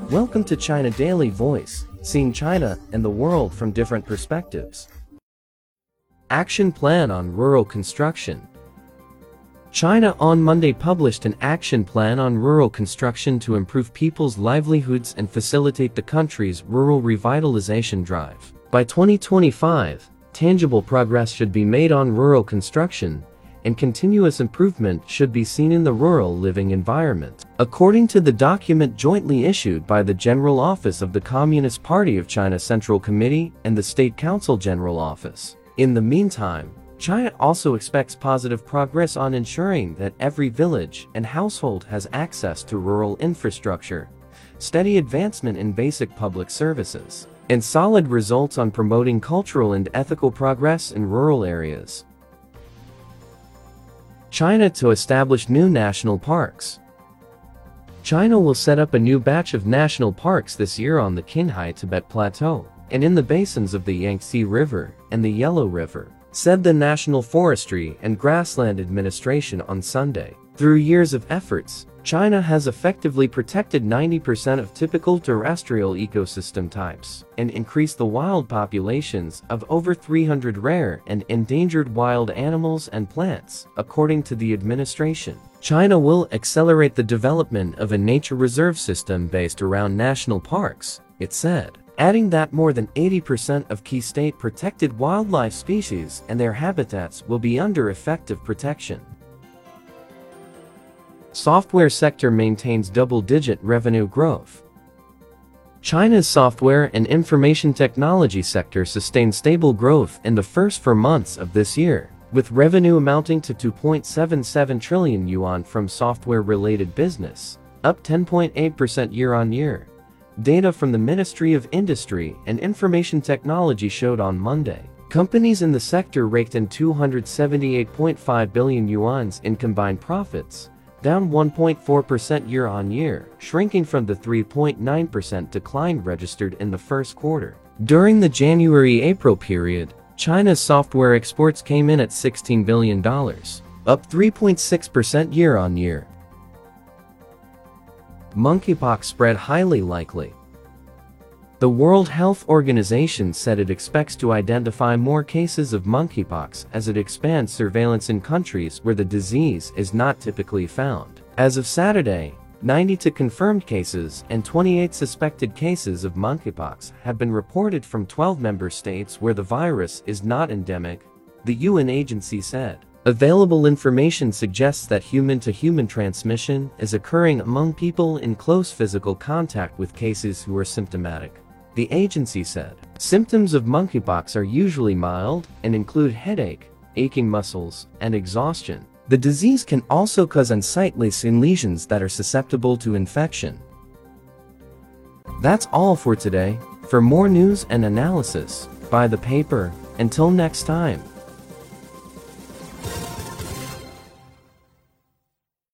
Welcome to China Daily Voice, seeing China and the world from different perspectives. Action Plan on Rural Construction. China on Monday published an action plan on rural construction to improve people's livelihoods and facilitate the country's rural revitalization drive. By 2025, tangible progress should be made on rural construction, and continuous improvement should be seen in the rural living environment. According to the document jointly issued by the General Office of the Communist Party of China Central Committee and the State Council General Office. In the meantime, China also expects positive progress on ensuring that every village and household has access to rural infrastructure, steady advancement in basic public services, and solid results on promoting cultural and ethical progress in rural areas. China to establish new national parks. China will set up a new batch of national parks this year on the Qinghai Tibet Plateau, and in the basins of the Yangtze River and the Yellow River, said the National Forestry and Grassland Administration on Sunday. Through years of efforts, China has effectively protected 90% of typical terrestrial ecosystem types and increased the wild populations of over 300 rare and endangered wild animals and plants, according to the administration. China will accelerate the development of a nature reserve system based around national parks, it said, adding that more than 80% of key state-protected wildlife species and their habitats will be under effective protection. Software sector maintains double-digit revenue growth. China's software and information technology sector sustained stable growth in the first 4 months of this year, with revenue amounting to 2.77 trillion yuan from software-related business, up 10.8% year-on-year. Data from the Ministry of Industry and Information Technology showed on Monday. Companies in the sector raked in 278.5 billion yuan in combined profits, down 1.4% year-on-year, shrinking from the 3.9% decline registered in the first quarter. During the January-April period, China's software exports came in at $16 billion, up 3.6% year-on-year. Monkeypox spread highly likely. The World Health Organization said it expects to identify more cases of monkeypox as it expands surveillance in countries where the disease is not typically found. As of Saturday, 92 confirmed cases and 28 suspected cases of monkeypox have been reported from 12 member states where the virus is not endemic, the UN agency said. Available information suggests that human-to-human transmission is occurring among people in close physical contact with cases who are symptomatic, the agency said. Symptoms of monkeypox are usually mild and include headache, aching muscles, and exhaustion. The disease can also cause unsightly skin lesions that are susceptible to infection. That's all for today. For more news and analysis, buy the paper. Until next time.